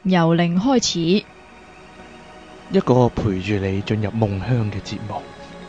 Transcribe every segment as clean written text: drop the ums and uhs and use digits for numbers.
由零開始， 一個陪住你進入夢鄉嘅節目。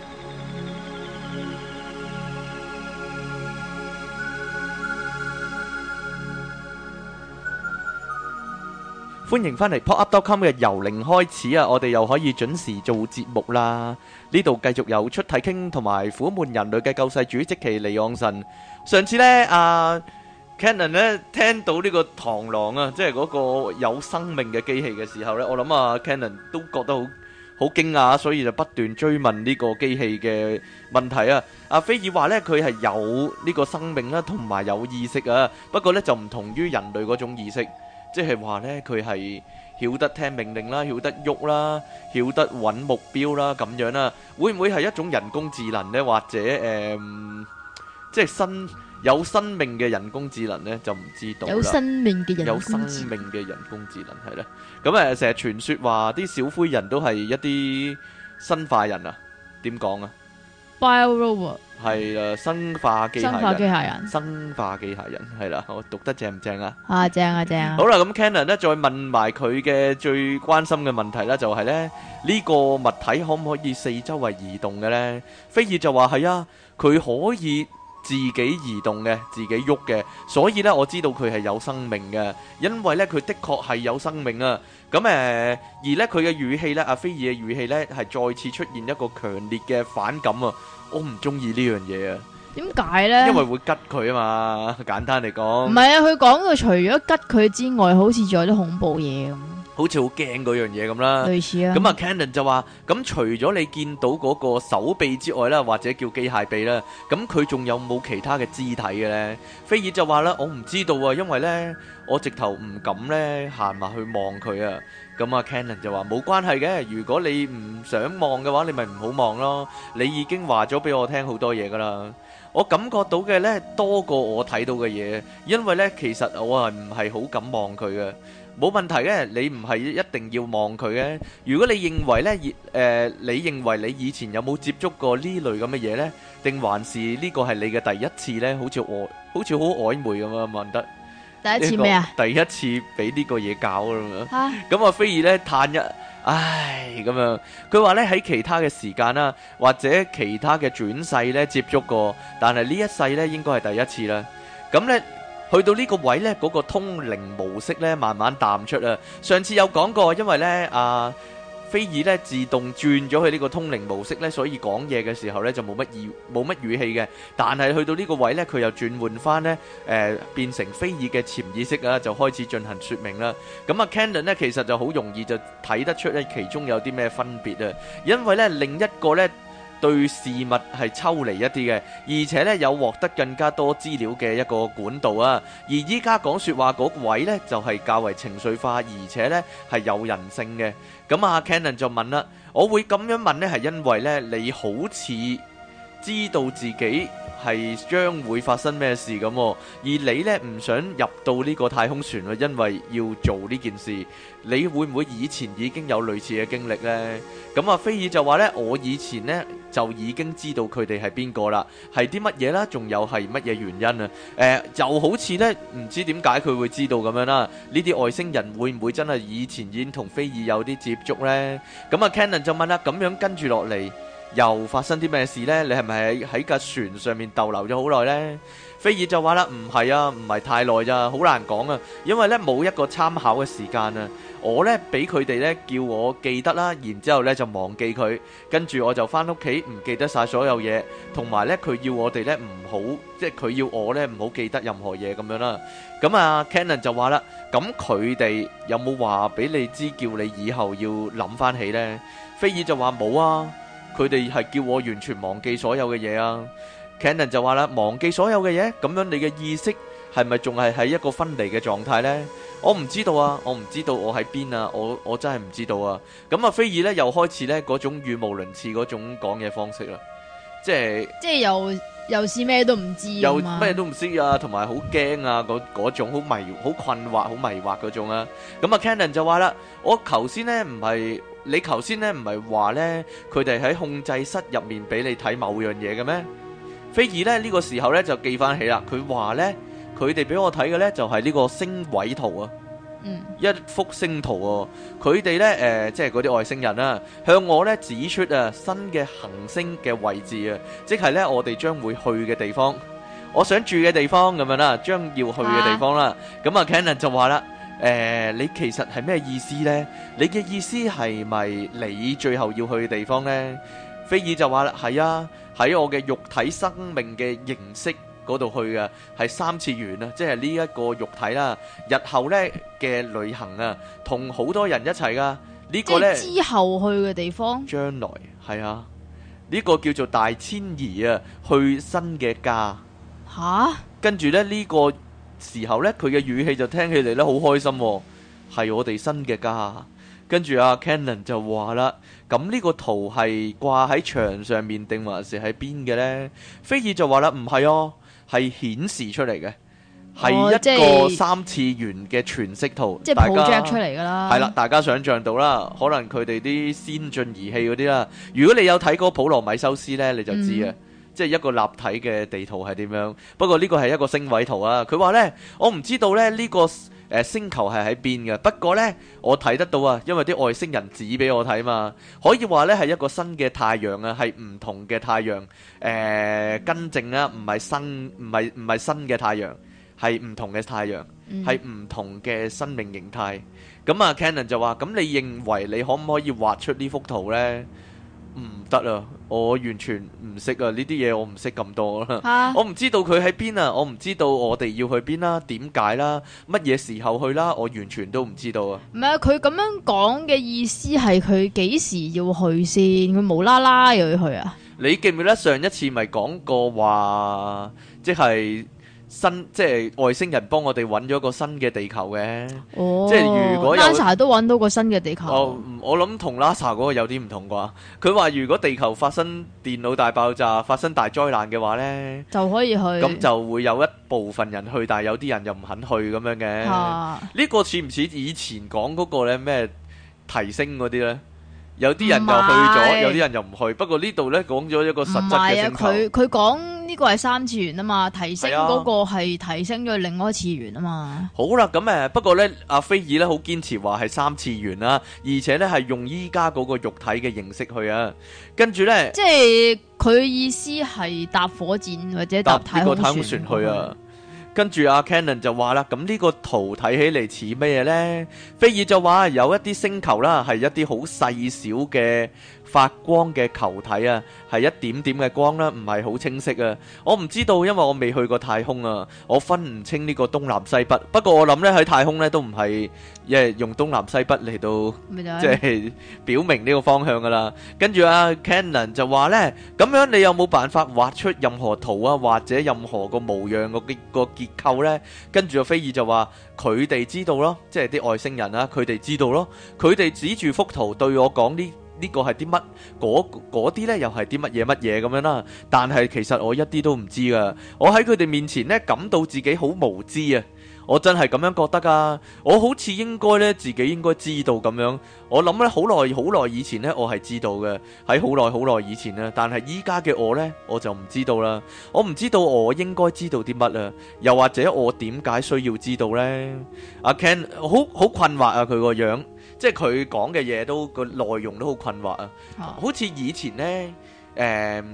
歡迎返嚟 pop-up.com 嘅由零開始啊！我哋又可以準時做節目啦。呢度繼續有出體傾同埋苦悶人類嘅救世主即其離岸神。上次呢，Cannon 呢聽到呢個螳螂啊，即係嗰個有生命嘅機器嘅時候呢，我諗啊 Cannon 都覺得好驚訝，所以就不斷追問呢個機器嘅問題啊。阿菲爾話呢，佢係有呢個生命啦，同埋有意識啊。不過呢，就唔同於人類嗰種意識。即係話呢，佢係曉得聽命令啦，曉得喐啦，曉得揾目標啦，咁樣啦，會唔會係一種人工智能呢？或者即係有生命嘅人工智能呢？就唔知道啦。 有生命嘅人有工生智命嘅人工智能係啦。咁成日傳說話啲小灰人都係一啲生化人啊？點講啊？ Bio Robot 係啊，生化機生化機械人。 械人生化機械人係啦，我讀得正唔正啊？ 啊，正啊正啊！ 好啦，咁 Cannon 咧再問埋佢嘅最關心嘅問題啦，就係咧呢個物體可唔可以四周圍移動嘅呢？菲爾就話係啊，佢可以自己移動嘅，自己喐嘅，所以呢，我知道佢係有生命嘅，因為呢，佢的確係有生命啊。咁而呢，佢嘅語氣呢，阿菲爾嘅語氣呢，係再次出現一個強烈嘅反感啊！我唔中意呢樣嘢啊！ 點解呢？ 因為會吉佢啊嘛，簡單嚟講。 唔係啊，佢講到除咗吉佢之外，好似仲有啲恐怖嘢咁， 好似好驚嗰樣嘢咁啦。 類似啊。 咁啊 Cannon 就話：咁除咗你見到嗰個手臂之外啦，或者叫機械臂啦，咁佢仲有冇其他嘅肢體嘅呢？菲爾就話啦：我唔知道啊，因為呢，我直頭唔敢呢行埋去望佢啊。咁啊 Cannon 就話：冇關係嘅，如果你唔想望嘅話，你咪唔好望咯。你已經話咗俾我聽好多嘢噶啦。我感覺到嘅呢，多過我睇到嘅嘢，因為呢，其實我係唔係好敢望佢嘅。冇問題嘅，你唔係一定要望佢嘅。如果你認為呢，你認為你以前有冇接觸過呢類咁嘅嘢呢？定還是呢個係你嘅第一次呢？好似好曖昧咁啊，問得第一次咩啊？ 第一次俾呢個嘢搞咁樣。 嚇！ 咁啊，菲爾呢嘆一唉咁樣，佢話呢喺其他嘅時間啦，或者其他嘅轉世呢接觸過，但係呢一世呢應該係第一次啦。咁呢。去到呢個位呢，嗰個通靈模式呢，慢慢淡出啊。上次有講過，因為呢，菲爾呢自動轉咗去呢個通靈模式呢，所以講嘢嘅時候呢就冇乜語氣嘅。但係去到呢個位呢，佢又轉換翻呢，變成菲爾嘅潛意識啊，就開始進行說明啦。咁啊 Cannon 呢其實就好容易就睇得出呢其中有啲咩分別啊，因為呢另一個呢。對事物係抽離一啲嘅，而且咧有獲得更加多資料嘅一個管道啊。而依家講説話嗰位呢，就係較為情緒化，而且呢係有人性嘅。咁啊 Cannon 就問啦，我會咁樣問呢，係因為呢你好似知道自己係將會發生咩事咁，而你呢唔想入到呢個太空船啊，因為要做呢件事。你會唔會以前已經有類似嘅經歷呢？咁啊，菲爾就話呢，我以前呢就已經知道佢哋係邊個啦，係啲乜嘢啦，仲有係乜嘢原因啊？就好似呢，唔知點解佢會知道咁樣啦。呢啲外星人會唔會真係以前已經同菲爾有啲接觸呢？咁啊 Cannon 就問啦，咁樣跟住落嚟又發生啲咩事呢？你係咪喺架船上面逗留咗好耐呢？菲爾就話啦，唔係啊，唔係太耐咋，好難講啊，因為呢冇一個參考嘅時間啊。我呢俾佢哋呢叫我記得啦，然之後呢就忘記佢，跟住我就翻屋企唔記得晒所有嘢，同埋呢佢要我哋呢唔好，即係佢要我呢唔好記得任何嘢咁樣啦。咁啊 Cannon 就話啦，咁佢哋有冇話俾你知叫你以後要諗翻起呢？菲爾就話冇啊，佢哋係叫我完全忘記所有嘅嘢啊。Cannon 就話啦，忘記所有嘅嘢，咁樣你嘅意識係咪仲係喺一個分離嘅狀態呢？我唔知道啊，我唔知道我喺邊啊，我真係唔知道啊。咁啊，菲爾呢又開始呢嗰種語無倫次嗰種講嘢方式啦，即係又是咩都唔知， 又咩都唔識啊，同埋好驚啊，嗰種好困惑、好迷惑嗰種啊。咁啊 Cannon 就話啦，你頭先呢唔係話呢，佢哋喺控制室入面俾你睇某樣嘢嘅咩？菲爾呢個時候呢就記翻起啦，佢話呢，佢哋俾我睇嘅呢就係呢個星位圖啊。 一幅星圖喎。佢哋呢，即係嗰啲外星人啦，向我呢指出新嘅行星嘅位置啊，即係呢我哋將會去嘅地方，我想住嘅地方咁樣啦，將要去嘅地方啦。咁啊 Cannon 就話啦，你其實係咩意思呢？你嘅意思係咪你最後要去嘅地方呢？菲爾就話啦，係啊，喺我嘅肉體生命嘅形式嗰度去嘅，係三次元啊，即係呢一個肉體啦。日後呢嘅旅行啊，同好多人一齊噶，呢個呢之後去嘅地方， 將來係啊，呢個叫做大遷移啊，去新嘅家。 吓， 跟住呢呢個時候呢，佢嘅語氣就聽起嚟呢好開心喎，係我哋新嘅家。跟住阿 Cannon 就話啦，咁呢個圖係掛喺牆上面定還是喺邊嘅呢？菲爾就話啦，唔係哦，係顯示出嚟嘅，係一個三次元嘅全息圖， 即係 project 出嚟噶啦。 係啦，大家想象到啦，可能佢哋啲先進儀器嗰啲啦。如果你有睇過普羅米修斯呢，你就知啊，即係一個立體嘅地圖係點樣。不過呢個係一個星位圖啊。佢話呢，我唔知道呢呢個星球係喺邊嘅，不過呢，我睇得到啊，因為啲外星人指俾我睇嘛，可以話呢係一個新嘅太陽啊，係唔同嘅太陽，更正啦，唔係新嘅太陽，係唔同嘅太陽，係唔同嘅生命形態。咁啊 Cannon 就話，咁你認為你可唔可以畫出呢幅圖呢？唔得啊！我完全唔識啊！呢啲嘢我唔識咁多啦，我唔知道佢喺邊啊！我唔知道我哋要去邊啦，點解啦，乜嘢時候去啦，我完全都唔知道啊！ 唔係啊，佢咁樣講嘅意思係佢幾時要去先？佢無啦啦又要去啊？ 你記唔記得上一次咪講過話，即係即係外星人幫我哋揾咗個新嘅地球嘅，即係如果有 NASA 都揾到個新嘅地球。 我諗同 NASA 嗰個有啲唔同啩。佢話如果地球發生電腦大爆炸、發生大災難嘅話呢， 就可以去。 咁就會有一部分人去，但係有啲人又唔肯去咁樣嘅。呢個似唔似以前講嗰個呢咩提升嗰啲呢？有啲人又去咗，有啲人又唔去。不過呢度呢講咗一個實質嘅星球。 佢講呢個係三次元啊嘛，提升嗰個係提升咗另外一次元啊嘛。 好啦，咁不過呢，阿菲爾呢好堅持話係三次元啦，而且呢係用依家嗰個肉體嘅形式去啊。跟住呢，即係佢意思係搭火箭或者搭太空船去啊。跟住阿 Cannon 就話啦，咁呢個圖睇起嚟似咩嘢呢？菲爾就話有一啲星球啦，係一啲好細小嘅發光嘅球體啊，係一點點嘅光啦，唔係好清晰啊。我唔知道，因為我未去過太空啊，我分唔清呢個東南西北。不過我諗呢，喺太空呢都唔係用東南西北嚟到即係表明呢個方向噶啦。跟住阿 Cannon 就話呢，咁樣你有冇辦法畫出任何圖啊，或者任何個模樣個結構呢？跟住阿菲爾就話佢哋知道咯，即係啲外星人啊，佢哋知道咯，佢哋指住幅圖對我講呢個係啲乜，嗰啲呢又係啲乜嘢咁樣啦。但係其實我一啲都唔知噶，我喺佢哋面前呢感到自己好無知啊！我真係咁樣覺得噶，我好似應該呢自己應該知道咁樣。我諗呢好耐以前呢我係知道嘅，喺好耐以前呢，但係依家嘅我呢我就唔知道啦。我唔知道我應該知道啲乜啊，又或者我點解需要知道呢？阿 Ken 好困惑啊，佢個樣。即係佢講嘅嘢都個內容都好困惑啊！好似以前呢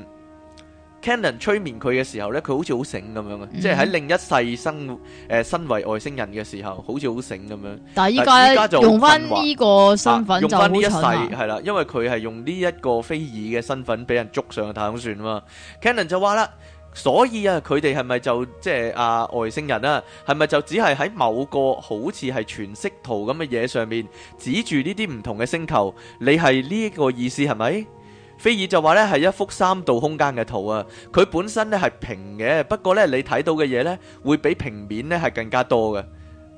，Cannon 催眠佢嘅時候呢，佢好似好醒咁樣啊！即係喺另一世身為外星人嘅時候，好似好醒咁樣。但係依家就用翻呢個身份就好蠢啦。用翻呢一世係啦，因為佢係用呢一個菲爾嘅身份俾人捉上去太空船啊嘛。Cannon 就話啦。所以啊，佢哋係咪就即係外星人啊？係咪就只係喺某個好似係全息圖咁嘅嘢上面指住呢啲唔同嘅星球？你係呢個意思係咪？菲爾就話呢係一幅3度空間嘅圖啊，佢本身呢係平嘅，不過呢你睇到嘅嘢呢會比平面呢係更加多嘅，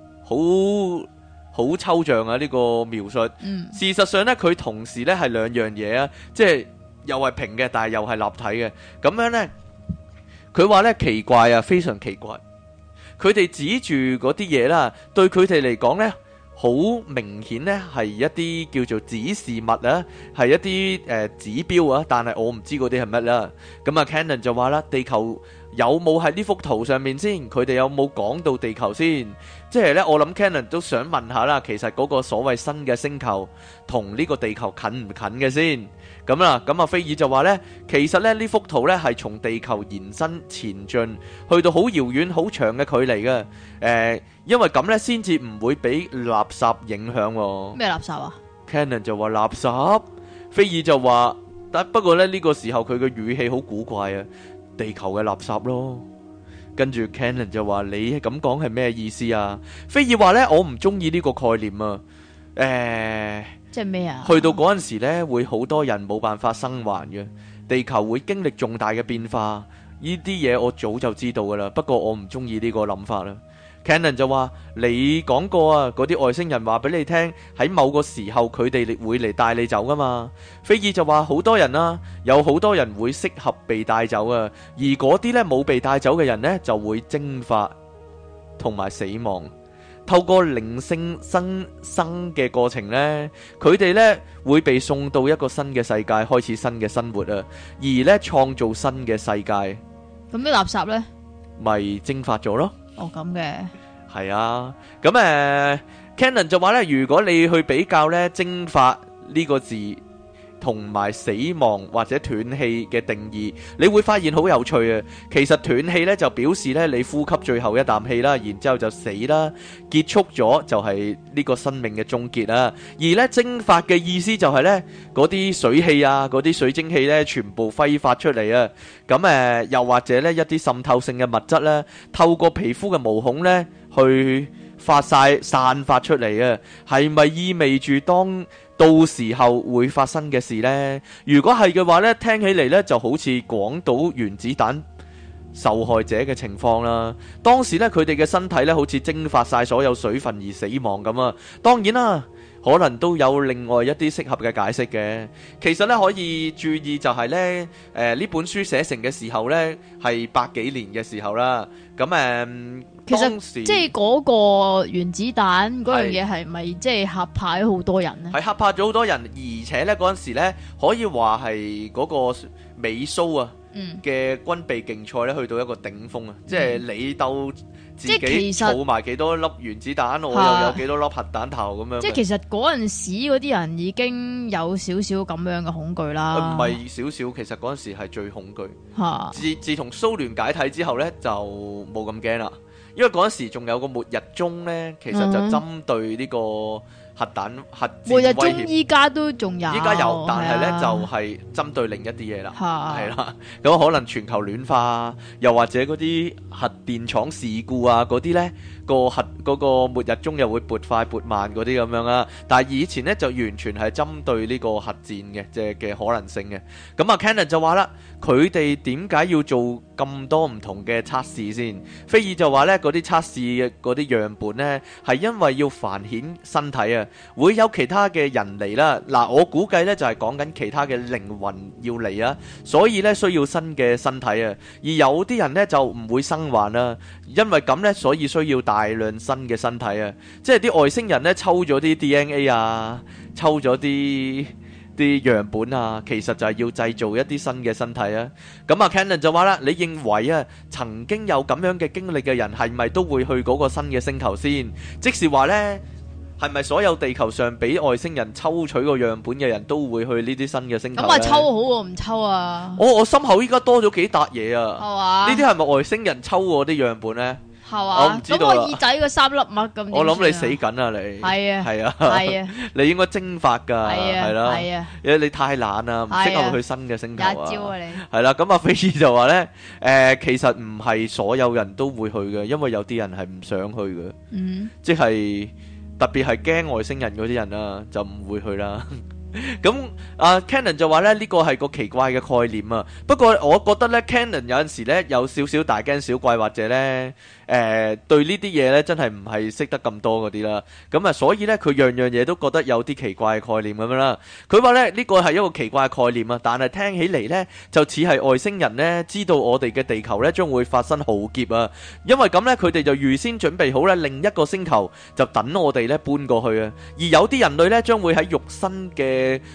好抽象啊呢個描述。事實上呢，佢同時呢係兩樣嘢啊，即係又係平嘅，但係又係立體嘅，咁樣呢。佢話咧奇怪啊，非常奇怪。佢哋指住嗰啲嘢啦，對佢哋嚟講咧，好明顯咧係一啲叫做指示物啊，係一啲指標啊。但係我唔知嗰啲係乜啦。咁啊 Cannon 就話啦，地球有冇喺呢幅圖上面先？佢哋有冇講到地球先？即係呢，我諗 Cannon 都想問下啦，其實嗰個所謂新嘅星球同呢個地球近唔近嘅先？咁啦，咁阿菲爾就話呢，其實呢幅圖呢係從地球延伸前進，去到好遙遠、好長嘅距離嘅。因為咁呢先至唔會俾垃圾影響喎。 咩垃圾啊？ Cannon 就話垃圾，菲爾就話，不過呢個時候佢嘅語氣好古怪啊，地球嘅垃圾咯。跟住 Cannon 就話，你咁講係咩意思啊？菲爾話呢，我唔中意呢個概念啊。 即係咩啊？ 去到嗰陣時呢，會好多人冇辦法生還嘅，地球會經歷重大嘅變化。呢啲嘢我早就知道噶啦，不過我唔中意呢個諗法啦。Cannon 就話，你講過啊，嗰啲外星人話俾你聽，喺某個時候佢哋會嚟帶你走噶嘛。菲爾就話，好多人啊，有好多人會適合被帶走啊，而嗰啲呢冇被帶走嘅人呢，就會蒸發同埋死亡。透過靈性生嘅過程呢，佢哋呢會被送到一個新嘅世界，開始新嘅生活啊，而呢創造新嘅世界。 咁啲垃圾呢？ 咪蒸發咗咯。 哦，咁嘅。 係啊，咁Cannon 就話呢，如果你去比較呢蒸發呢個字同埋死亡或者斷氣嘅定義，你會發現好有趣啊。其實斷氣呢就表示呢你呼吸最後一啖氣啦，然之後就死啦，結束咗就係呢個生命嘅終結啦。而呢蒸發嘅意思就係呢嗰啲水氣啊，嗰啲水蒸氣呢全部揮發出嚟啊。咁又或者呢一啲滲透性嘅物質呢，透過皮膚嘅毛孔呢去散發出嚟啊。係咪意味住到時候會發生嘅事呢？如果係嘅話呢，聽起嚟呢就好似廣島原子彈受害者嘅情況啦。當時呢，佢哋嘅身體呢好似蒸發晒所有水分而死亡咁啊。當然啦，可能都有另外一啲適合嘅解釋嘅。其實呢，可以注意就係呢，呢本書寫成嘅時候呢係百幾年嘅時候啦。咁其實即係嗰個原子彈嗰樣嘢係咪即係嚇怕咗好多人呢？ 係嚇怕咗好多人，而且呢嗰陣時呢可以話係嗰個美蘇啊嘅軍備競賽呢去到一個頂峰啊！即係你鬥自己儲埋幾多粒原子彈，我又有幾多粒核彈頭咁樣。 即係其實嗰陣時嗰啲人已經有少少咁樣嘅恐懼啦。 唔係少少，其實嗰陣時係最恐懼。自從蘇聯解體之後呢，就冇咁驚啦。因為嗰陣時仲有個末日鐘呢，其實就針對呢個核彈核戰末日威鐘依家都仲有， 依家有，但係呢就係針對另一啲嘢啦，係啦，咁可能全球暖化，又或者嗰啲核電廠事故啊，嗰啲呢嗰個末日鐘又會撥快撥慢嗰啲咁樣啦。但係以前呢就完全係針對呢個核戰嘅即係嘅可能性嘅。咁啊 Cannon 就話啦，佢哋點解要做咁多唔同嘅測試先？菲爾就話呢，嗰啲測試嘅嗰啲樣本呢係因為要繁衍身體啊，會有其他嘅人嚟啦。嗱，我估計呢就係講緊其他嘅靈魂要嚟啊，所以呢需要新嘅身體啊。而有啲人呢就唔會生還啦，因為咁呢所以需要大量新嘅身體啊。即係啲外星人呢抽咗啲 DNA 啊，抽咗啲樣本啊，其實就係要製造一啲新嘅身體啊。咁啊 Cannon 就話啦，你認為啊曾經有咁樣嘅經歷嘅人係咪都會去嗰個新嘅星球先？即是話呢，係咪所有地球上俾外星人抽取個樣本嘅人都會去呢啲新嘅星球？咁啊抽好喎，唔抽啊？ 我心口依家多咗幾笪嘢啊！ 係嘛？呢啲係咪外星人抽我啲樣本呢？ 係嘛？我唔知道啦。咁我耳仔個三粒麥咁， 我諗你死緊啊！你係啊係啊係啊！你應該蒸發㗎，係啦係啊！因為你太懶啦，唔適合去新嘅星球啊！一招啊你！係啦，咁阿菲爾就話咧，其實唔係所有人都會去嘅，因為有啲人係唔想去嘅，即係特別係驚外星人嗰啲人啊，就唔會去啦。咁Cannon 就話咧，呢個係個奇怪嘅概念啊。不過我覺得咧 Cannon 有陣時咧有少少大驚小怪，或者咧對呢啲嘢咧真係唔係識得咁多嗰啲啦。咁啊，所以咧佢樣樣嘢都覺得有啲奇怪嘅概念咁樣啦。佢話咧呢個係一個奇怪嘅概念啊，但係聽起嚟咧就似係外星人咧知道我哋嘅地球咧將會發生浩劫啊。因為咁咧佢哋就預先準備好咧另一個星球就等我哋咧搬過去啊。而有啲人類咧將會喺肉身嘅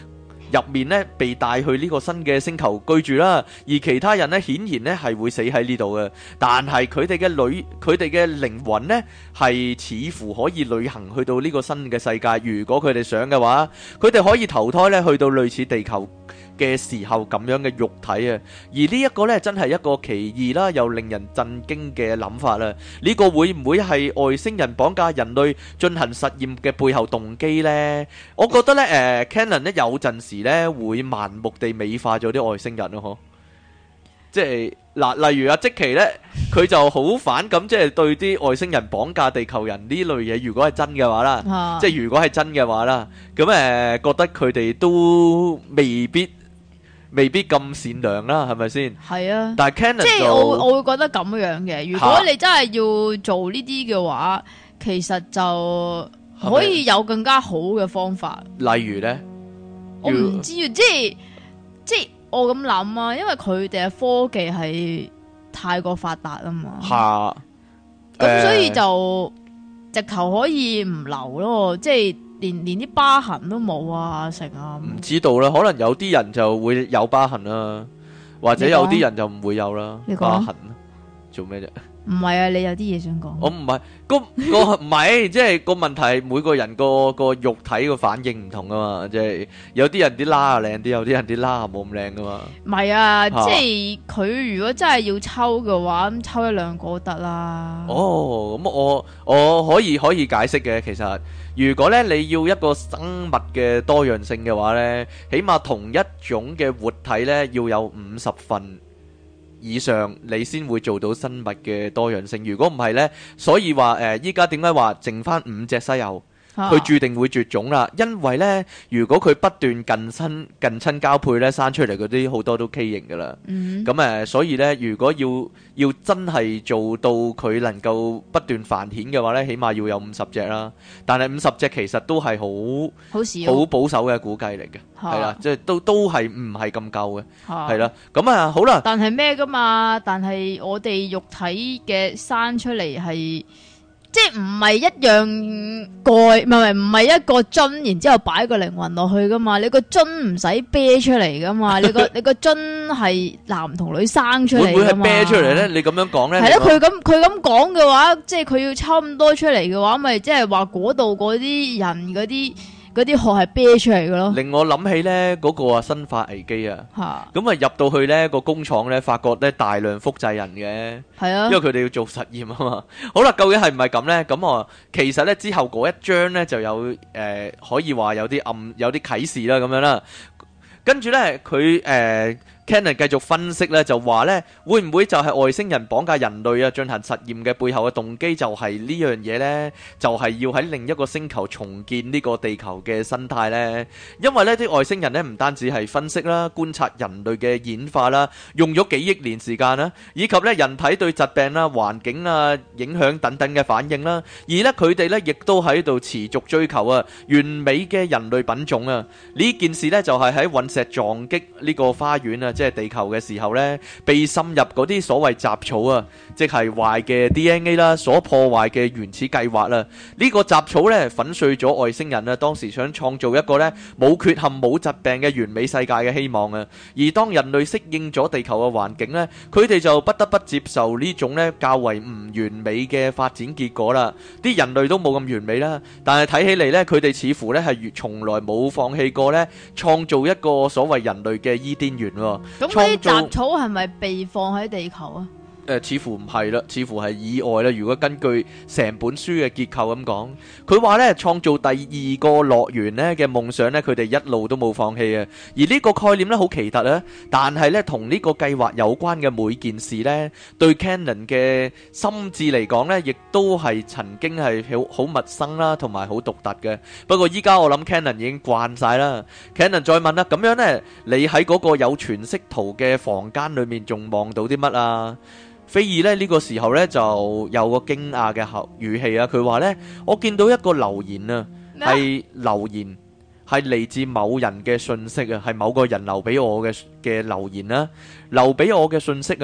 入面咧被帶去呢個新嘅星球居住啦，而其他人咧顯然咧係會死喺呢度嘅，但係佢哋嘅靈魂咧係似乎可以旅行去到呢個新嘅世界，如果佢哋想嘅話，佢哋可以投胎咧去到類似地球嘅時候咁樣嘅肉體啊，而呢一個呢，真係一個奇異啦，又令人震驚嘅諗法啦。呢個會唔會係外星人綁架人類進行實驗嘅背後動機呢？我覺得呢Canon 呢有陣時呢會盲目地美化咗啲外星人咯，嗬。即係嗱，例如阿積奇呢，佢就好反感，即係對啲外星人綁架地球人呢類嘢，如果係真嘅話啦，即係如果係真嘅話啦，咁覺得佢哋都未必咁善良啦，係咪先？係啊，但係 Canon 即係我會覺得咁樣嘅。如果你真係要做呢啲嘅話，其實就可以有更加好嘅方法。 例如呢， 我唔知啊，即係我咁諗啊，因為佢哋嘅科技係太過發達啊嘛。咁所以就直頭可以唔留咯，即係。連啲疤痕都冇啊，成啊！ 唔知道啦，可能有啲人就會有疤痕啦，或者有啲人就唔會有啦。疤痕做咩啫？ 唔係啊，你有啲嘢想講？ 我唔係個唔係，即係個問題，每個人個肉體個反應唔同噶嘛，即係有啲人啲疤靚啲，有啲人啲疤冇咁靚噶嘛。 唔係啊，即係佢如果真係要抽嘅話，咁抽一兩個得啦。 哦，咁我可以解釋嘅，其實。如果咧你要一個生物嘅多樣性嘅話咧，起碼同一種嘅活體咧要有50份以上，你先會做到生物嘅多樣性。如果唔係咧，所以話依家點解話剩翻5隻西柚？佢注定會絕種啦，因為呢，如果佢不斷近親交配呢，生出嚟嗰啲好多都畸形噶啦。咁所以呢，如果要真係做到佢能夠不斷繁衍嘅話呢，起碼要有50隻啦。但係50隻其實都係好保守嘅估計嚟嘅，係啦，即係都係唔係咁夠嘅，係啦。咁好啦。 但係咩噶嘛？但係我哋肉體嘅生出嚟係。即係唔係一樣蓋，唔係一個樽，然之後擺個靈魂落去噶嘛？你個樽唔使啤出嚟噶嘛？你個樽係男同女生出嚟噶嘛？ 會唔會係啤出嚟咧？你咁樣講咧？ 係咯，佢咁講嘅話，即係佢要抽咁多出嚟嘅話，咪即係話嗰度嗰啲人嗰啲殼係啤出嚟嘅咯。 令我諗起咧嗰個生化危機啊，咁入到去咧個工廠咧，發覺咧大量複製人嘅，係啊，因為佢哋要做實驗啊嘛。好啦，究竟係唔係咁咧？咁其實咧之後嗰一章咧就有可以話有啲啟示啦咁樣啦。跟住咧佢Cannon 繼續分析咧，就話咧會唔會就係外星人綁架人類啊進行實驗嘅背後嘅動機就係呢樣嘢呢？就係要喺另一個星球重建呢個地球嘅生態呢？因為呢啲外星人呢唔單止係分析啦、觀察人類嘅演化啦，用咗幾億年時間啦，以及呢人體對疾病啦、環境啊影響等等嘅反應啦，而呢佢哋呢亦都喺度持續追求啊完美嘅人類品種啊！呢件事呢就係喺隕石撞擊呢個花園啊！即係地球嘅時候呢，被滲入嗰啲所謂雜草啊，即係壞嘅 DNA 啦，所破壞嘅原始計劃啦。呢個雜草呢，粉碎咗外星人啊，當時想創造一個呢冇缺陷、冇疾病嘅完美世界嘅希望啊。而當人類適應咗地球嘅環境呢，佢哋就不得不接受呢種呢較為唔完美嘅發展結果啦。啲人類都冇咁完美啦，但係睇起嚟呢，佢哋似乎呢係從來冇放棄過呢創造一個所謂人類嘅伊甸園。 咁啲雜草係咪被放喺地球啊？ 似乎唔係啦，似乎係意外啦。如果根據成本書嘅結構咁講，佢話呢創造第二個樂園呢嘅夢想呢，佢哋一路都冇放棄啊。而呢個概念呢好奇特啊，但係呢同呢個計劃有關嘅每件事呢，對 Cannon 嘅心智嚟講呢，亦都係曾經係好陌生啦，同埋好獨特嘅。不過依家我諗 Cannon 已經慣晒啦。Cannon 再問啦，咁樣呢，你喺嗰個有全息圖嘅房間裏面仲望到啲乜啊？菲爾呢個時候呢，就有個驚訝嘅語氣啊，佢話呢，我見到一個留言啊，係留言係嚟自某人嘅信息啊，係某個人留俾我嘅留言啦，留俾我嘅信息啊。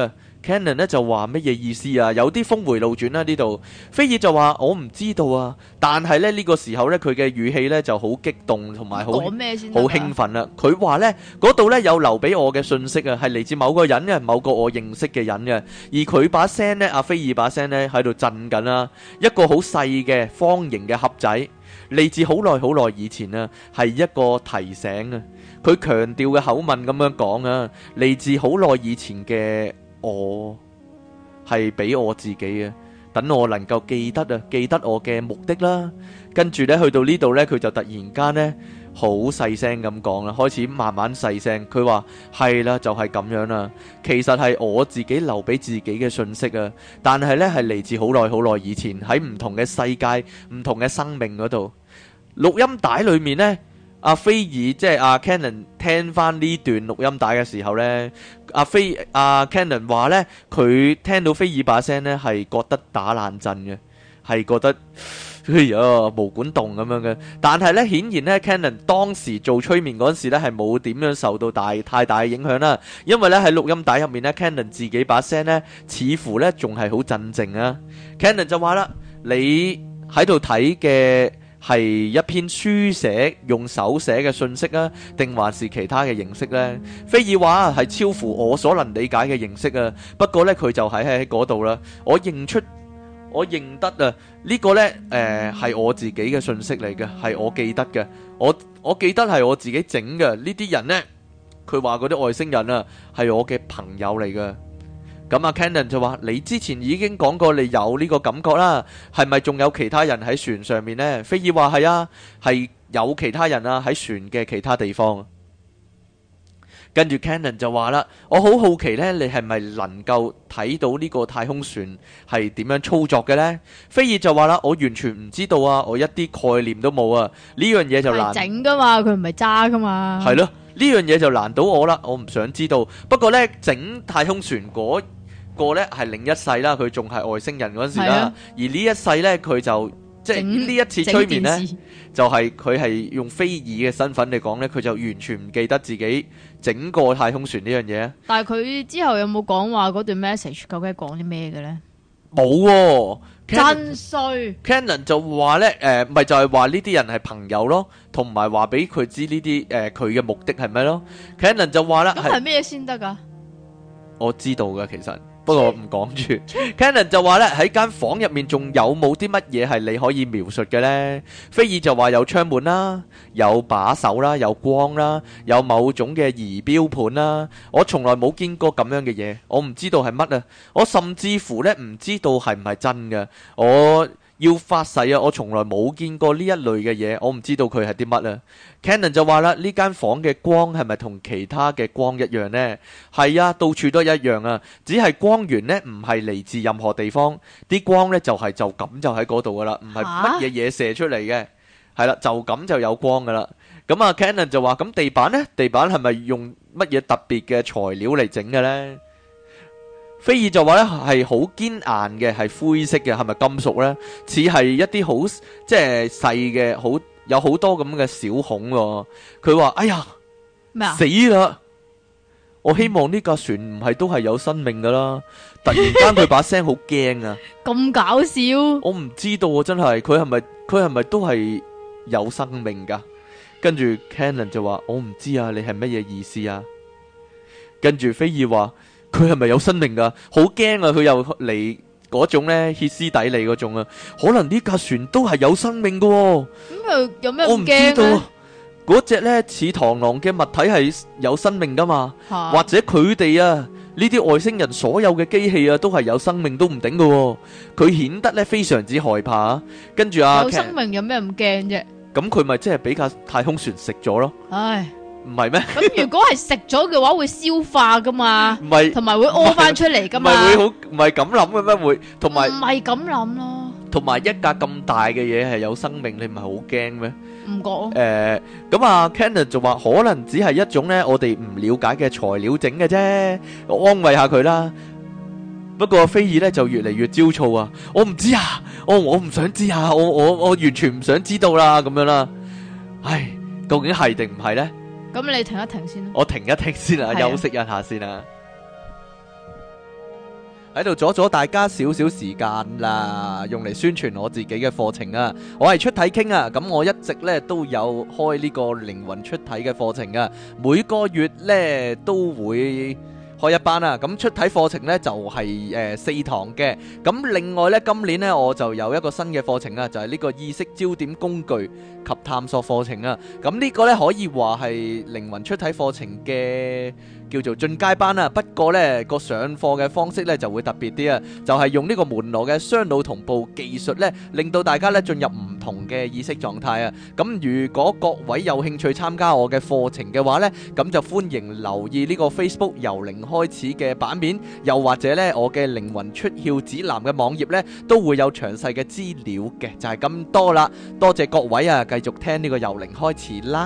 Cannon 咧就話乜嘢意思啊？有啲峰迴路轉啦呢度。菲爾就話我唔知道啊，但係咧呢個時候咧佢嘅語氣咧就好激動同埋好興奮啦。佢話咧嗰度咧有留俾我嘅信息啊，係嚟自某個人嘅，某個我認識嘅人嘅。而佢把聲咧，阿菲爾把聲咧喺度震緊啦，一個好細嘅方形嘅盒仔。嚟自好耐好耐以前啊，係一個提醒啊。佢強調嘅口吻咁樣講啊，嚟自好耐以前嘅我，係俾我自己啊，等我能夠記得啊，記得我嘅目的啦。跟住呢，去到呢度呢，佢就突然間呢，好細聲咁講啦，開始慢慢細聲。佢話係啦，就係咁樣啦。其實係我自己留俾自己嘅信息啊，但係呢，係嚟自好耐好耐以前，喺唔同嘅世界、唔同嘅生命嗰度。錄音帶裏面呢，阿菲爾即係阿 Cannon 聽翻呢段錄音帶嘅時候呢，阿 Cannon 話呢，佢聽到菲爾把聲呢係覺得打冷震嘅，係覺得哎呀毛管戙咁樣嘅。但係呢，顯然呢 Cannon 當時做催眠嗰時呢係冇點樣受到太大嘅影響啦，因為呢喺錄音帶入面呢 Cannon 自己把聲呢似乎呢仲係好鎮靜啊。Cannon 就話啦，你喺度睇嘅係一篇書寫用手寫嘅信息啊，定還是其他嘅形式呢？菲爾話係超乎我所能理解嘅形式啊。不過呢，佢就喺嗰度啦。我認得啊，呢個呢係我自己嘅信息嚟嘅，係我記得嘅。我記得係我自己整嘅。呢啲人呢，佢話嗰啲外星人啊，係我嘅朋友嚟嘅。咁阿 Cannon 就話：你之前已經講過你有呢個感覺啦，係咪仲有其他人喺船上面呢？菲爾話係啊，係有其他人啊喺船嘅其他地方。跟住 Cannon 就話啦：我好好奇呢，你係咪能夠睇到呢個太空船係點樣操作嘅呢？菲爾就話啦：我完全唔知道啊，我一啲概念都冇啊。呢樣嘢就難整噶嘛，佢唔係揸噶嘛。 係咯，呢樣嘢就難到我啦，我唔想知道。不過呢，整太空船嗰個呢係另一世啦，佢仲係外星人嗰陣時啦，而呢一世呢，佢就即係呢一次催眠呢，就係佢係用菲爾嘅身份嚟講呢，佢就完全唔記得自己整個太空船呢樣嘢。 但係佢之後有冇講話嗰段 message 究竟係講啲咩嘅呢？ 冇喎， 真衰。 Cannon 就話呢，咪就係話呢啲人係朋友咯，同埋話俾佢知呢啲佢嘅目的係咩咯。Cannon 就話啦， 咁係咩先得噶？ 我知道噶，其實。不過唔講住。Cannon 就話咧，喺間房入面仲有冇啲乜嘢係你可以描述嘅呢？菲爾就話有窗門啦，有把手啦，有光啦，有某種嘅儀表盤啦。我從來冇見過咁樣嘅嘢，我唔知道係乜啊！我甚至乎咧唔知道係唔係真嘅。我要發誓啊！我從來冇見過呢一類嘅嘢，我唔知道佢係啲乜啊。Cannon 就話啦，呢間房嘅光係咪同其他嘅光一樣呢？係啊，到處都一樣啊，只係光源呢唔係嚟自任何地方，啲光呢就咁就喺嗰度噶啦，唔係乜嘢嘢射出嚟嘅，係啦，就咁就有光噶啦。咁啊 Cannon 就話，咁地板呢？地板係咪用乜嘢特別嘅材料嚟整嘅呢？菲爾就話咧係好堅硬嘅，係灰色嘅，係咪金屬呢？似係一啲好即係細嘅，好有好多咁嘅小孔喎。佢話：哎呀，死啦！我希望呢架船唔係都係有生命噶啦。突然間佢把聲好驚啊！ 咁搞笑！ 我唔知道啊，真係佢係咪都係有生命噶？跟住 Cannon 就話：我唔知啊，你係乜嘢意思啊？跟住菲爾話。佢係咪有生命噶？好驚啊！佢又嚟嗰種咧歇斯底里嗰種啊！可能呢架船都係有生命噶。咁又有咩咁驚咧？ 我唔知道嗰隻咧似螳螂嘅物體係有生命噶嘛？或者佢哋啊呢啲外星人所有嘅機器啊都係有生命都唔定噶。佢顯得咧非常之害怕。跟住有生命有咩咁驚啫？ 咁佢咪即係俾架太空船食咗咯？ 唉。 唔係咩？ 咁如果係食咗嘅話，會消化噶嘛？ 唔係， 同埋會屙翻出嚟噶嘛？ 唔係會好，唔係咁諗嘅咩？會，同埋唔係咁諗咯。同埋一架咁大嘅嘢係有生命，你唔係好驚咩？ 唔覺。 咁啊 Cannon 就話可能只係一種咧，我哋唔了解嘅材料整嘅啫，我安慰下佢啦。不過菲爾咧就越嚟越焦躁啊！我唔知啊，我唔想知啊，我完全唔想知道啦，咁樣啦。唉，究竟係定唔係咧？ 咁你停一停先啦。 我停一停先啦，休息一下先啦。 喺度阻咗大家少少時間啦，用嚟宣傳我自己嘅課程啊！我係出體傾啊，咁我一直咧都有開呢個靈魂出體嘅課程啊，每個月咧都會開一班啊，咁出體課程呢就係4堂嘅，咁另外呢，今年呢我就有一個新嘅課程啊，就係呢個意識焦點工具及探索課程啊，咁呢個呢可以話係靈魂出體課程嘅叫做進階班啊，不過呢個上課嘅方式呢就會特別啲啊，就係用呢個門羅嘅雙腦同步技術呢，令到大家呢進入唔同嘅意識狀態啊，咁如果各位有興趣參加我嘅課程嘅話呢，咁就歡迎留意呢個 Facebook 由零開始嘅版面，又或者呢我嘅靈魂出竅指南嘅網頁呢都會有詳細嘅資料嘅，就係咁多啦，多謝各位啊，繼續聽呢個由零開始啦。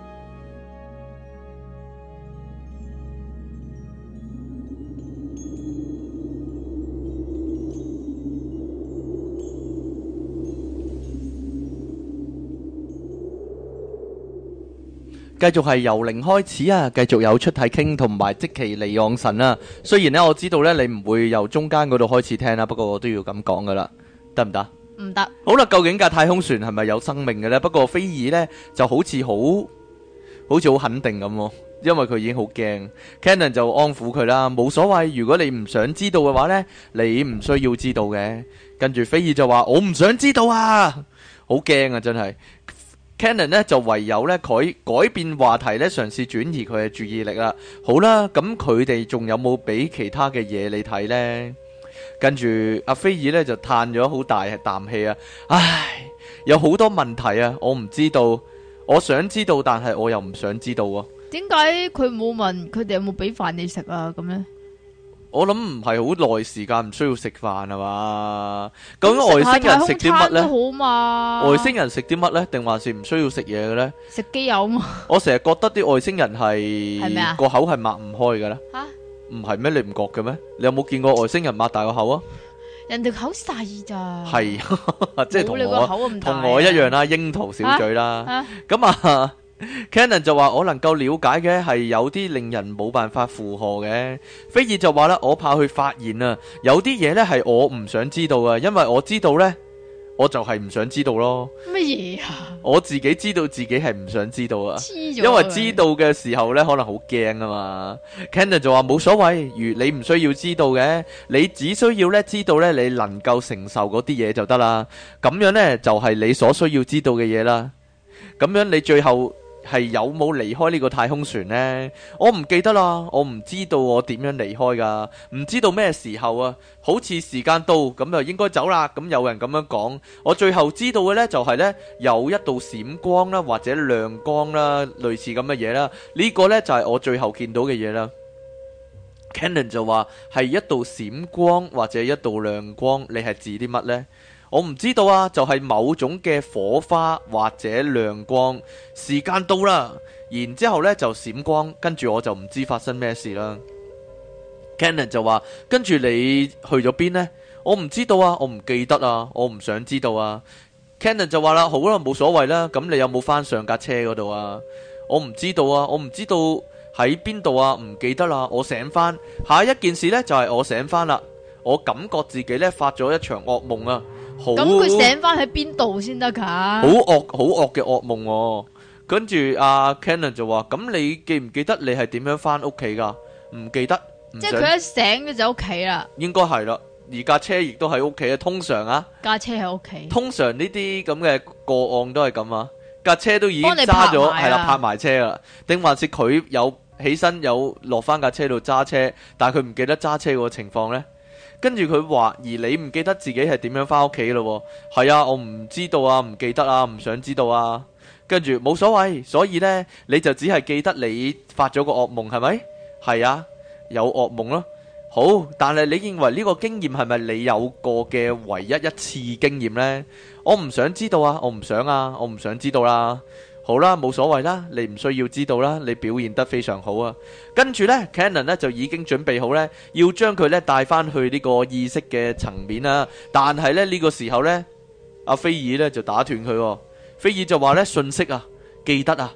繼續係由零開始啊！繼續有出體傾同埋即其利昂神啊！雖然呢，我知道呢，你唔會由中間嗰度開始聽啦，不過我都要咁講噶啦，得唔得？ 唔得。 好啦，究竟架太空船係咪有生命嘅呢？不過菲爾呢，就好似好肯定咁喎，因為佢已經好驚。Cannon 就安撫佢啦，冇所謂，如果你唔想知道嘅話呢，你唔需要知道嘅。跟住菲爾就話：我唔想知道啊！好驚啊，真係。Cannon 呢就唯有呢改變話題呢，嘗試轉移佢嘅注意力啦。好啦，咁佢哋仲有冇俾其他嘅嘢你睇呢？跟住阿菲爾呢就嘆咗好大啖氣啊！唉，有好多問題啊，我唔知道，我想知道，但係我又唔想知道喎。點解佢冇問佢哋有冇俾飯你食啊？咁呢？ 我諗唔係好耐時間唔需要食飯係嘛？究竟外星人食啲乜呢？好嘛？外星人食啲乜呢？定還是唔需要食嘢嘅呢？食機油嘛？我成日覺得啲外星人係個口係擘唔開嘅咧。吓？唔係咩？你唔覺嘅咩？你有冇見過外星人擘大個口啊？人哋口細咋？係，即係同我一樣啦，櫻桃小嘴啦。咁啊。Cannon 就話我能夠了解嘅係有啲令人冇辦法負荷嘅，菲爾就話啦，我怕去發現啊，有啲嘢呢係我唔想知道啊，因為我知道呢，我就係唔想知道咯。乜嘢啊？我自己知道自己係唔想知道啊，因為知道嘅時候呢可能好驚啊嘛。Cannon 就話冇所謂，如你唔需要知道嘅，你只需要呢知道呢你能夠承受嗰啲嘢就得啦，咁樣呢就係你所需要知道嘅嘢啦。咁樣你最後係有冇離開呢個太空船呢？我唔記得啦，我唔知道我點樣離開噶，唔知道咩時候啊，好似時間到咁就應該走啦，咁有人咁樣講。我最後知道嘅呢，就係呢，有一道閃光啦，或者亮光啦，類似咁嘅嘢啦，呢個呢，就係我最後見到嘅嘢啦。Cannon 就話係一道閃光或者一道亮光，你係指啲乜呢？我唔知道啊，就係某種嘅火花或者亮光，時間到啦，然之後呢就閃光，跟住我就唔知發生咩事啦。Cannon 就話：跟住你去咗邊呢？我唔知道啊，我唔記得啊，我唔想知道啊。Cannon 就話啦：好啦，冇所謂啦，咁你有冇翻上架車嗰度啊？我唔知道啊，我唔知道喺邊度啊，唔記得啦。我醒翻，下一件事呢，就係我醒翻啦，我感覺自己呢發咗一場噩夢啊！咁佢醒翻喺邊度先得噶？好惡嘅噩夢喎。跟住阿 Cannon 就話：咁你記唔記得你係點樣翻屋企噶？唔記得。即係佢一醒就屋企啦。應該係啦，而架車亦都喺屋企啊。通常啊，架車喺屋企。通常呢啲咁嘅個案都係咁啊，架車都已經揸咗，係啦，泊埋車啦。定還是佢有起身有落翻架車度揸車，但係佢唔記得揸車個情況呢？跟住佢話，而你唔記得自己係點樣翻屋企咯？係啊，我唔知道啊，唔記得啊，唔想知道啊。跟住冇所謂，所以呢，你就只係記得你發咗個噩夢，係咪？係啊，有噩夢咯。好，但係你認為呢個經驗係咪你有過嘅唯一一次經驗呢？我唔想知道啊，我唔想啊，我唔想知道啦。好啦，冇所謂啦，你唔需要知道啦，你表現得非常好啊。跟住呢 Cannon 呢就已經準備好呢，要將佢呢帶翻去呢個意識嘅層面啦。但係呢，呢個時候呢，阿菲爾呢就打斷佢，菲爾就話呢，信息啊，記得啊，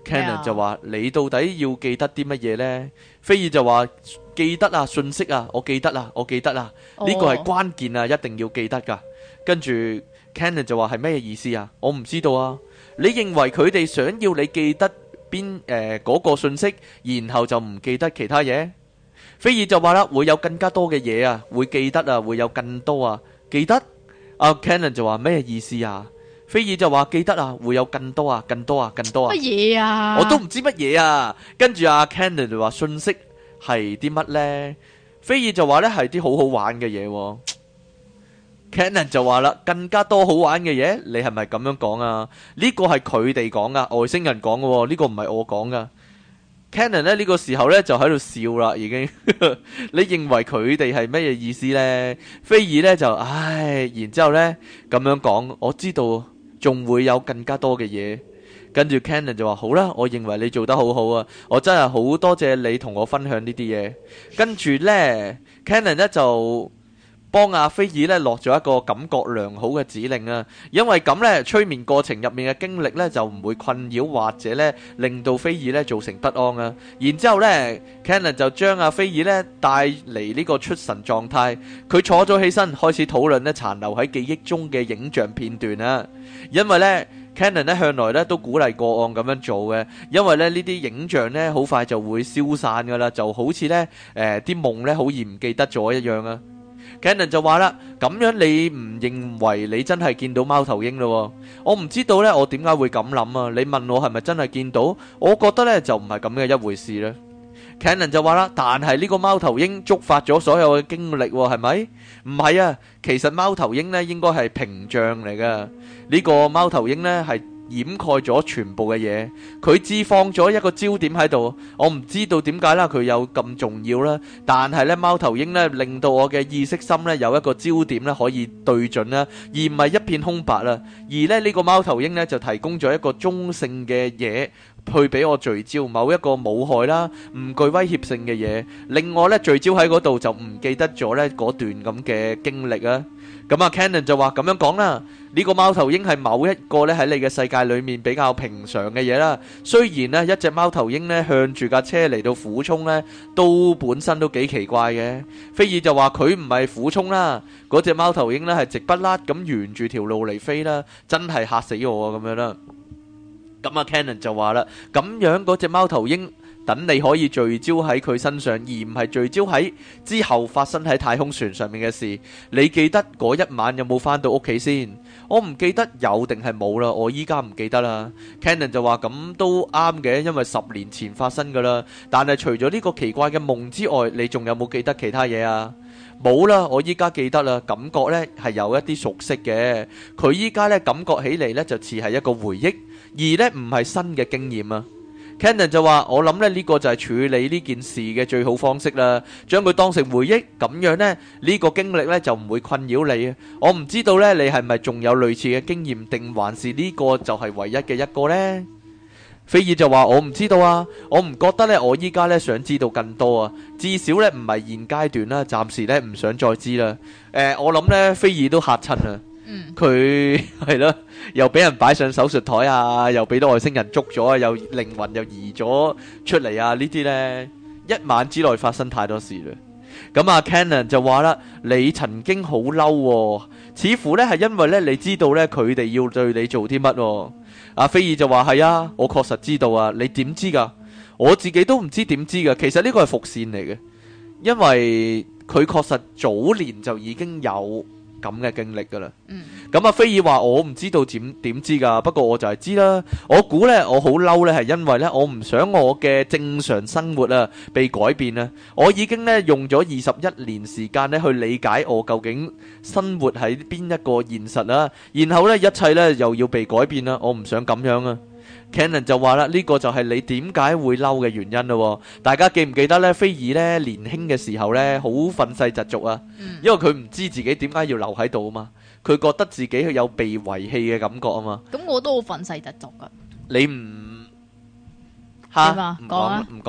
Cannon 就話：你到底要記得啲乜嘢呢？菲爾就話：記得啊，信息啊，我記得啦，我記得啦，呢個係關鍵啊，一定要記得噶。跟住 Cannon 就話：係咩意思啊？我唔知道啊。你認為佢哋想要你記得嗰個信息，然後就唔記得其他嘢？菲爾就話啦：會有更加多嘅嘢啊，會記得啊，會有更多啊，記得。阿 Cannon 就話：咩意思啊？菲爾就話：記得啊，會有更多啊，更多啊，更多啊。 乜嘢啊？ 我都唔知乜嘢啊。跟住阿 Cannon 就話：信息係啲乜呢？菲爾就話呢係啲好好玩嘅嘢喎。Cannon 就話啦：更加多好玩嘅嘢，你係咪咁樣講啊？呢個係佢哋講噶，外星人講嘅喎，呢個唔係我講噶。Cannon 呢個時候呢就喺度笑啦，已經。你認為佢哋係乜嘢意思呢？菲爾呢就唉，然之後呢咁樣講，我知道仲會有更加多嘅嘢。跟住 Cannon 就話：好啦，我認為你做得好好啊，我真係好多謝你同我分享呢啲嘢。跟住呢 Cannon 呢就幫阿菲爾呢落咗一個感覺良好嘅指令啊，因為咁呢催眠過程入面嘅經歷呢就唔會困擾或者呢令到菲爾呢造成不安啊。然之後呢 Cannon 就將阿菲爾呢帶嚟呢個出神狀態，佢坐咗起身開始討論呢殘留喺記憶中嘅影像片段啊。因為呢 Cannon 呢向來呢都鼓勵個案咁樣做嘅，因為呢啲影像呢好快就會消散噶啦，就好似呢啲夢呢好易唔記得咗一樣啊。Cannon 就話啦：咁樣你唔認為你真係見到貓頭鷹咯？我唔知道呢，我點解會咁諗啊？你問我係咪真係見到？我覺得呢就唔係咁嘅一回事啦。Cannon 就話啦：但係呢個貓頭鷹觸發咗所有嘅經歷，係咪？唔係啊，其實貓頭鷹呢應該係屏障嚟噶。呢個貓頭鷹呢係掩蓋咗全部嘅嘢，佢只放咗一個焦點喺度。我唔知道點解啦，佢有咁重要啦。但係呢，貓頭鷹呢令到我嘅意識心呢有一個焦點呢可以對準啦，而唔係一片空白啦。而呢個貓頭鷹呢就提供咗一個中性嘅嘢，去俾我聚焦某一個冇害啦、唔具威脅性嘅嘢，令我呢聚焦喺嗰度就唔記得咗呢嗰段咁嘅經歷啊。咁啊 Cannon 就話咁樣講啦，呢個貓頭鷹係某一個呢喺你嘅世界裏面比較平常嘅嘢啦。雖然呢一隻貓頭鷹呢向住架車嚟到俯衝呢，都本身都幾奇怪嘅。菲爾就話佢唔係俯衝啦，嗰隻貓頭鷹呢係直不甩咁沿住條路嚟飛啦，真係嚇死我啊咁樣啦。咁啊 Cannon 就話啦，咁樣嗰隻貓頭鷹等你可以聚焦喺佢身上，而唔係聚焦喺之後發生喺太空船上面嘅事。你記得嗰一晚有冇返到屋企先？我唔記得有定係冇啦，我依家唔記得啦。Cannon 就話咁都啱嘅，因為10年前發生噶啦。但係除咗呢個奇怪嘅夢之外，你仲有冇記得其他嘢啊？冇啦，我依家記得啦，感覺呢係有一啲熟悉嘅。佢依家呢感覺起嚟呢就似係一個回憶，而呢唔係新嘅經驗啊。Cannon 就話：我諗呢個就係處理呢件事嘅最好方式啦，將佢當成回憶，咁樣呢，呢個經歷呢就唔會困擾你啊。我唔知道呢，你係咪仲有類似嘅經驗，定還是呢個就係唯一嘅一個呢？菲爾就話：我唔知道啊，我唔覺得呢，我依家呢想知道更多啊，至少呢唔係現階段啦，暫時呢唔想再知啦。我諗呢，菲爾都嚇親啊。佢係咯，又俾人擺上手術台啊，又俾到外星人捉咗啊，又靈魂又移咗出嚟啊！呢啲呢，一晚之內發生太多事啦。咁啊 Cannon 就話啦：你曾經好嬲，似乎呢係因為呢你知道呢佢哋要對你做啲乜。阿菲爾就話：係啊，我確實知道啊。你點知噶？我自己都唔知點知噶。其實呢個係伏線嚟嘅，因為佢確實早年就已經有咁嘅經歷噶啦。咁菲爾話：我唔知道點知噶，不過我就係知啦。我估呢，我好嬲呢係因為呢，我唔想我嘅正常生活啊被改變啊。我已經呢用咗21年時間呢去理解我究竟生活喺邊一個現實啦，然後呢，一切呢又要被改變啦。我唔想咁樣啊。Cannon 就話啦：呢個就係你點解會嬲嘅原因咯。大家記唔記得呢？菲爾呢年輕嘅時候呢好憤世嫉俗啊，因為佢唔知自己點解要留喺度啊嘛，佢覺得自己有被遺棄嘅感覺啊嘛。 咁我都好憤世嫉俗噶。 你唔嚇唔講啦？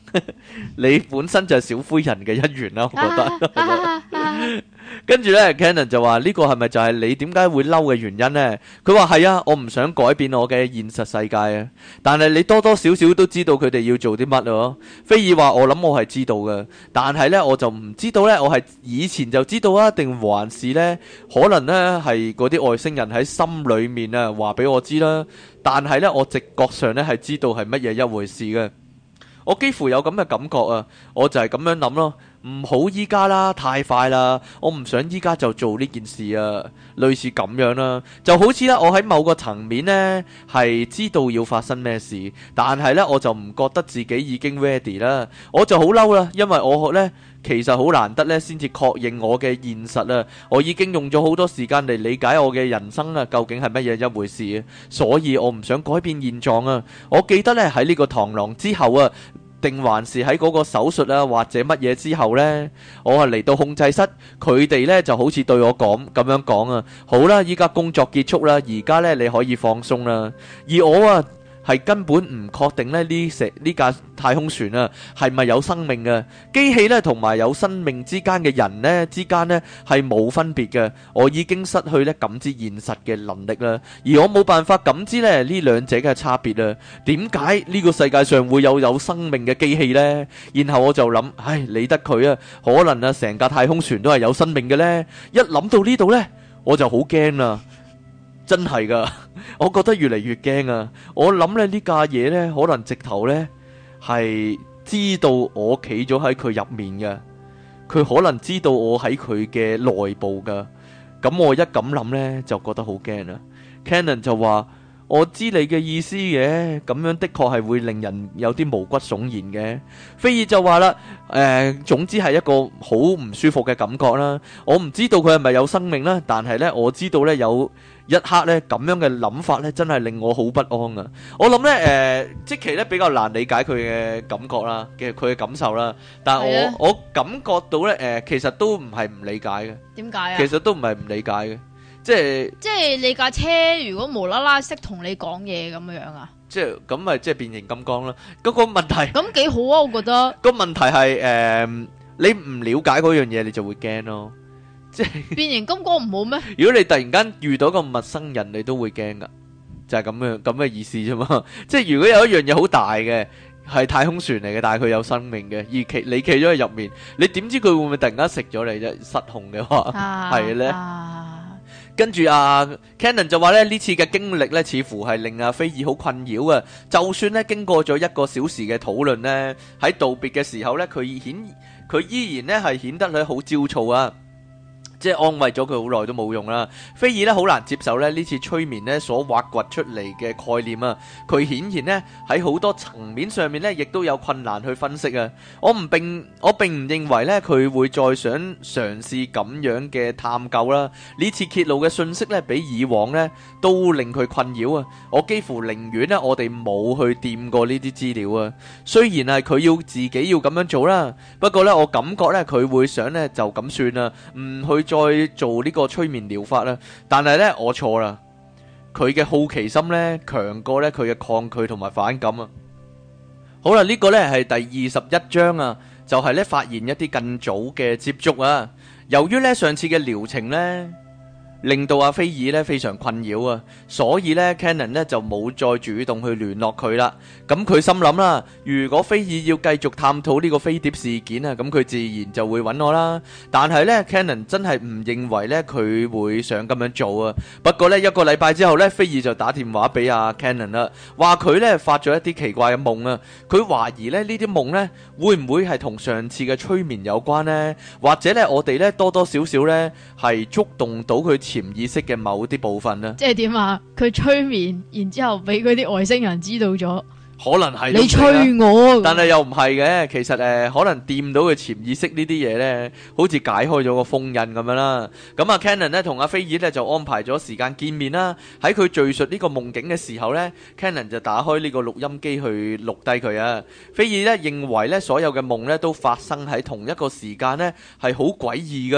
你本身就係小灰人嘅一員啦，我覺得。跟住呢 Cannon 就話呢個係咪就係你點解會嬲嘅原因呢？佢話係啊，我唔想改變我嘅現實世界啊。但係你多多少少都知道佢哋要做啲乜咯。菲爾話我諗我係知道嘅，但係呢，我就唔知道呢，我係以前就知道啊，定還是呢？可能呢係嗰啲外星人喺心裏面啊話俾我知啦。但係呢，我直覺上呢係知道係乜嘢一回事嘅。我幾乎有咁嘅感覺啊，我就係咁樣諗咯，唔好依家啦，太快啦，我唔想依家就做呢件事啊，類似咁樣啦，就好似啦，我喺某個層面呢係知道要發生咩事，但係呢，我就唔覺得自己已經 ready 啦，我就好嬲啦，因為我呢其實好難得呢先至確認我嘅現實啊，我已經用咗好多時間嚟理解我嘅人生啊，究竟係乜嘢一回事啊，所以我唔想改變現狀啊。我記得呢喺呢個螳螂之後啊，定還是喺嗰個手術啊，或者乜嘢之後呢，我係嚟到控制室，佢哋呢就好似對我講咁樣講啊，好啦，依家工作結束啦，而家呢你可以放鬆啦，而我啊係根本唔確定咧呢架太空船啊係咪有生命嘅機器呢，同埋有生命之間嘅人呢之間呢係冇分別嘅。我已經失去咧感知現實嘅能力啦，而我冇辦法感知咧呢兩者嘅差別啊。點解呢個世界上會有生命嘅機器呢？然後我就諗，唉，理得佢啊，可能啊成架太空船都係有生命嘅呢。一諗到呢度呢，我就好驚啦。真係噶，我覺得越嚟越驚啊！我諗咧呢架嘢呢，可能直頭呢係知道我企咗喺佢入面嘅，佢可能知道我喺佢嘅內部噶。咁我一咁諗呢，就覺得好驚啦。Cannon 就話：我知你嘅意思嘅，咁樣的確係會令人有啲毛骨悚然嘅。菲爾就話啦，總之係一個好唔舒服嘅感覺啦。我唔知道佢係咪有生命啦，但係呢，我知道呢有一刻呢咁樣嘅諗法呢，真係令我好不安啊！我諗呢，即期呢比較難理解佢嘅感覺啦，佢嘅感受啦。但係我感覺到呢，其實都唔係唔理解嘅。 點解啊？ 其實都唔係唔理解嘅。即係你架車如果無啦啦識同你講嘢咁樣啊？即係咁咪即係變形金剛啦。嗰個問題咁幾好啊，我覺得。個問題係你唔了解嗰樣嘢，你就會驚咯。即係變形金剛唔好咩？如果你突然間遇到個陌生人，你都會驚噶，就係咁嘅意思啫嘛。即係如果有一樣嘢好大嘅，係太空船嚟嘅，但係佢有生命嘅，而你企咗喺入面，你點知佢會唔會突然間食咗你啫？失控嘅話係咧。跟住Cannon 就話咧，呢次嘅經歷咧，似乎係令阿菲爾好困擾啊。就算咧經過咗1個小時嘅討論咧，喺道別嘅時候咧，佢依然咧係顯得佢好焦躁啊。即係安慰咗佢好耐都冇用啦。菲爾咧好難接受咧呢次催眠咧所挖掘出嚟嘅概念啊。佢顯然咧喺好多層面上面咧亦都有困難去分析啊。我並唔認為咧佢會再想嘗試咁樣嘅探究啦。呢次揭露嘅信息咧比以往咧都令佢困擾啊。我幾乎寧願咧我哋冇去掂過呢啲資料啊。雖然係佢要自己要咁樣做啦，不過咧我感覺咧佢會想咧就咁算啦，唔去再做呢個催眠療法啦，但係呢，我錯啦，佢嘅好奇心呢，強過呢佢嘅抗拒同埋反感啊。好啦，呢個呢係第21章啊，就係呢發現一啲更早嘅接觸啊。由於呢上次嘅療程呢，令到阿菲爾咧非常困擾啊，所以咧 Cannon 咧就冇再主動去聯絡佢啦。咁佢心諗啦，如果菲爾要繼續探討呢個飛碟事件啊，咁佢自然就會揾我啦。但係咧 Cannon 真係唔認為咧佢會想咁樣做啊。不過咧1個禮拜之後咧，菲爾就打電話俾阿 Cannon 啦，話佢咧發咗一啲奇怪嘅夢啊。佢懷疑咧呢啲夢咧會唔會係同上次嘅催眠有關呢？或者咧我哋咧多多少少咧係觸動到佢潛意識嘅某啲部分呢？即係點啊？佢催眠，然之後俾嗰啲外星人知道咗，可能係你催我，但係又唔係嘅。其實可能掂到佢潛意識呢啲嘢呢，好似解開咗個封印咁樣啦。咁啊 Cannon 呢同阿菲爾呢就安排咗時間見面啦。喺佢敘述呢個夢境嘅時候呢， Cannon 就打開呢個錄音機去錄低佢啊。菲爾呢認為呢所有嘅夢呢都發生喺同一個時間呢，係好詭異嘅。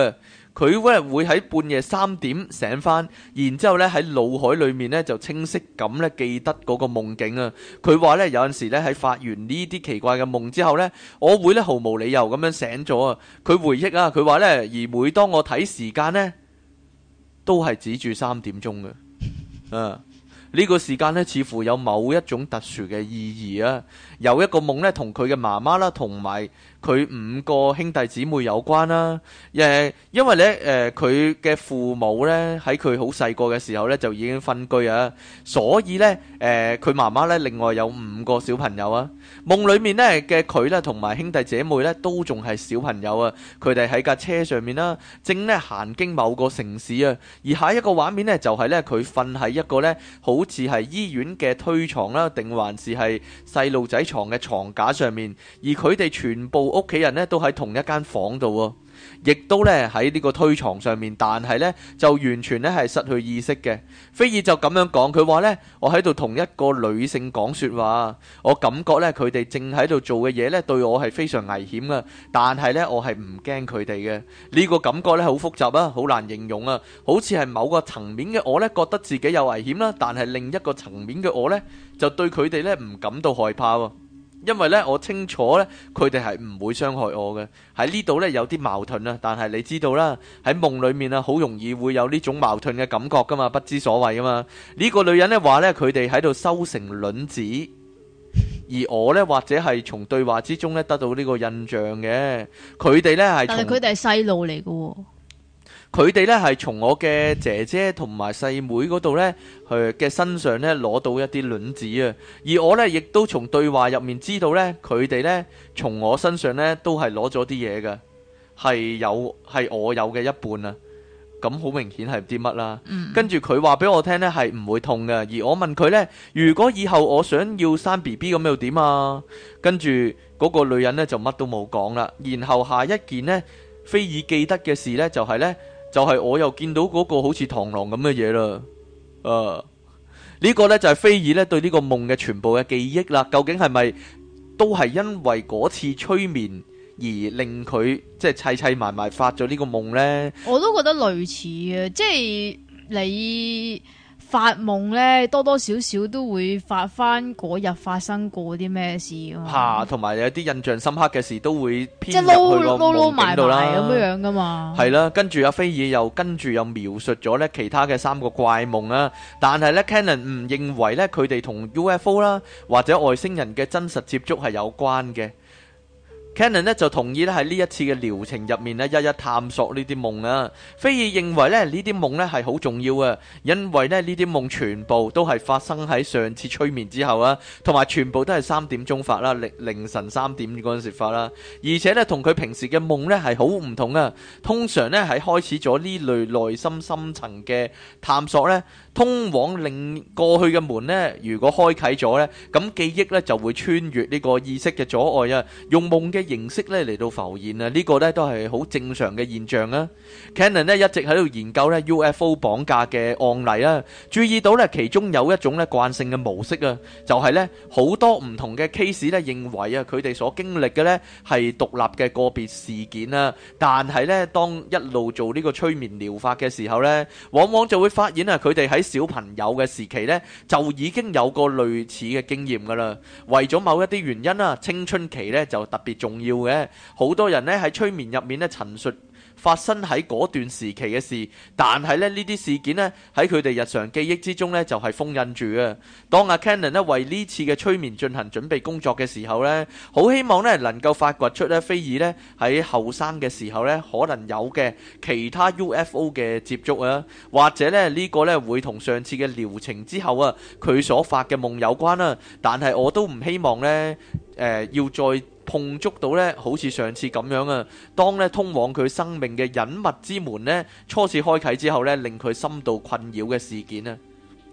佢咧會喺半夜3點醒翻，然之後咧喺腦海裏面咧就清晰咁咧記得嗰個夢境啊。佢話咧有陣時咧喺發完呢啲奇怪嘅夢之後咧，我會咧毫無理由咁樣醒咗啊。佢回憶啊，佢話咧而每當我睇時間咧，都係指住3點鐘嘅啊。呢個時間咧，似乎有某一種特殊嘅意義啊！有一個夢咧，同佢嘅媽媽啦，同埋佢5個兄弟姊妹有關啦。因為咧，佢嘅父母咧喺佢好細個嘅時候咧就已經分居啊，所以咧，佢媽媽咧另外有5個小朋友啊。夢裏面咧嘅佢咧同埋兄弟姐妹咧都仲係小朋友啊，佢哋喺架車上面啦，正咧行經某個城市啊。而下一個畫面咧就係咧佢瞓喺一個咧好似係醫院嘅推床啦，定還是係細路仔床嘅床架上面，而佢哋全部屋企人咧都喺同一間房度喎。亦都咧喺呢個推床上面，但係咧就完全咧係失去意識嘅。菲爾就咁樣講，佢話咧我喺度同一個女性講說話，我感覺咧佢哋正喺度做嘅嘢咧對我係非常危險噶，但係咧我係唔驚佢哋嘅。呢個感覺咧好複雜啊，好難形容啊，好似係某個層面嘅我咧覺得自己有危險啦，但係另一個層面嘅我咧就對佢哋咧唔感到害怕喎。因為咧，我清楚咧，佢哋係唔會傷害我嘅。喺呢度咧有啲矛盾啊，但係你知道啦，喺夢裏面啊，好容易會有呢種矛盾嘅感覺噶嘛，不知所謂噶嘛。呢個女人咧話咧，佢哋喺度收成卵子，而我咧或者係從對話之中咧得到呢個印象嘅。佢哋咧係，但係佢哋係細路嚟嘅喎。佢哋咧係從我嘅姐姐同埋細妹嗰度咧，佢嘅身上咧攞到一啲卵子啊，而我咧亦都從對話入面知道咧，佢哋咧從我身上咧都係攞咗啲嘢嘅，係我有嘅一半啊。咁好明顯係啲乜啦？跟住佢話俾我聽咧係唔會痛嘅，而我問佢咧，如果以後我想要生 BB 咁又點啊？跟住嗰個女人咧就乜都冇講啦。然後下一件呢，菲爾記得嘅事咧就係我又見到嗰個好似螳螂咁嘅嘢啦，呢個呢就係菲爾咧對呢個夢嘅全部嘅記憶啦。究竟係咪都係因為嗰次催眠而令佢即係砌埋埋發咗呢個夢呢？我都覺得類似嘅，即係你發夢咧，多多少少都會發翻嗰日發生過啲咩事噶嘛。嚇，同埋有啲印象深刻嘅事都會編入去個夢境度啦。咁樣噶嘛。係啦，跟住阿菲爾又描述咗咧其他嘅3個怪夢啊。但係咧 Cannon 唔認為咧佢哋同 UFO 啦或者外星人嘅真實接觸係有關嘅。Cannon 咧就同意咧喺呢一次嘅療程入面咧一一探索呢啲夢啊。菲爾認為咧呢啲夢咧係好重要啊，因為咧呢啲夢全部都係發生喺上次催眠之後啊，同埋全部都係3點鐘發啦，凌晨3點嗰陣時發啦，而且咧同佢平時嘅夢咧係好唔同啊。通常咧喺開始咗呢類內心深層嘅探索咧，通往另過去嘅門咧，如果開啟咗咧，咁記憶咧就會穿越呢個意識嘅阻礙啊，用夢嘅形式咧嚟到浮現啊，呢個咧都係好正常嘅現象啊。Cannon 咧一直喺度研究咧 UFO 綁架嘅案例啊，注意到咧其中有一種咧慣性嘅模式啊，就係咧好多唔同嘅 case 咧認為啊佢哋所經歷嘅咧係獨立嘅個別事件啊，但係咧當一路做呢個催眠療法嘅時候咧，往往就會發現啊佢哋喺小朋友嘅時期咧就已經有個類似嘅經驗噶啦。為咗某一啲原因啊，青春期咧就特別重要嘅，好多人咧喺催眠入面咧陳述發生喺嗰段時期嘅事，但係咧呢啲事件咧喺佢哋日常記憶之中咧就係封印住嘅。當阿 Cannon 咧為呢次嘅催眠進行準備工作嘅時候咧，好希望咧能夠發掘出咧菲爾咧喺後生嘅時候咧可能有嘅其他 UFO 嘅接觸啊，或者咧呢個咧會同上次嘅療程之後啊佢所發嘅夢有關啦。但係我都唔希望咧要再碰觸到咧，好似上次咁樣啊！當咧通往佢生命嘅隱密之門咧初次開啟之後咧，令佢深度困擾嘅事件啊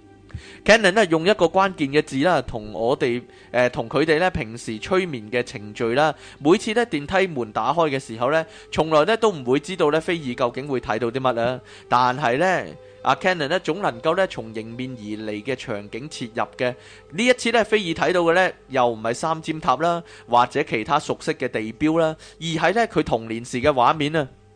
，Cannon 咧用一個關鍵嘅字啦，同我哋同佢哋咧平時催眠嘅程序啦，每次咧電梯門打開嘅時候咧，從來咧都唔會知道咧菲爾究竟會睇到啲乜啊！但係咧阿 Cannon 咧總能夠咧從迎面而嚟嘅場景切入嘅。呢一次咧菲爾睇到嘅咧又唔係三尖塔啦，或者其他熟悉嘅地標啦，而係咧佢童年時嘅畫面啊。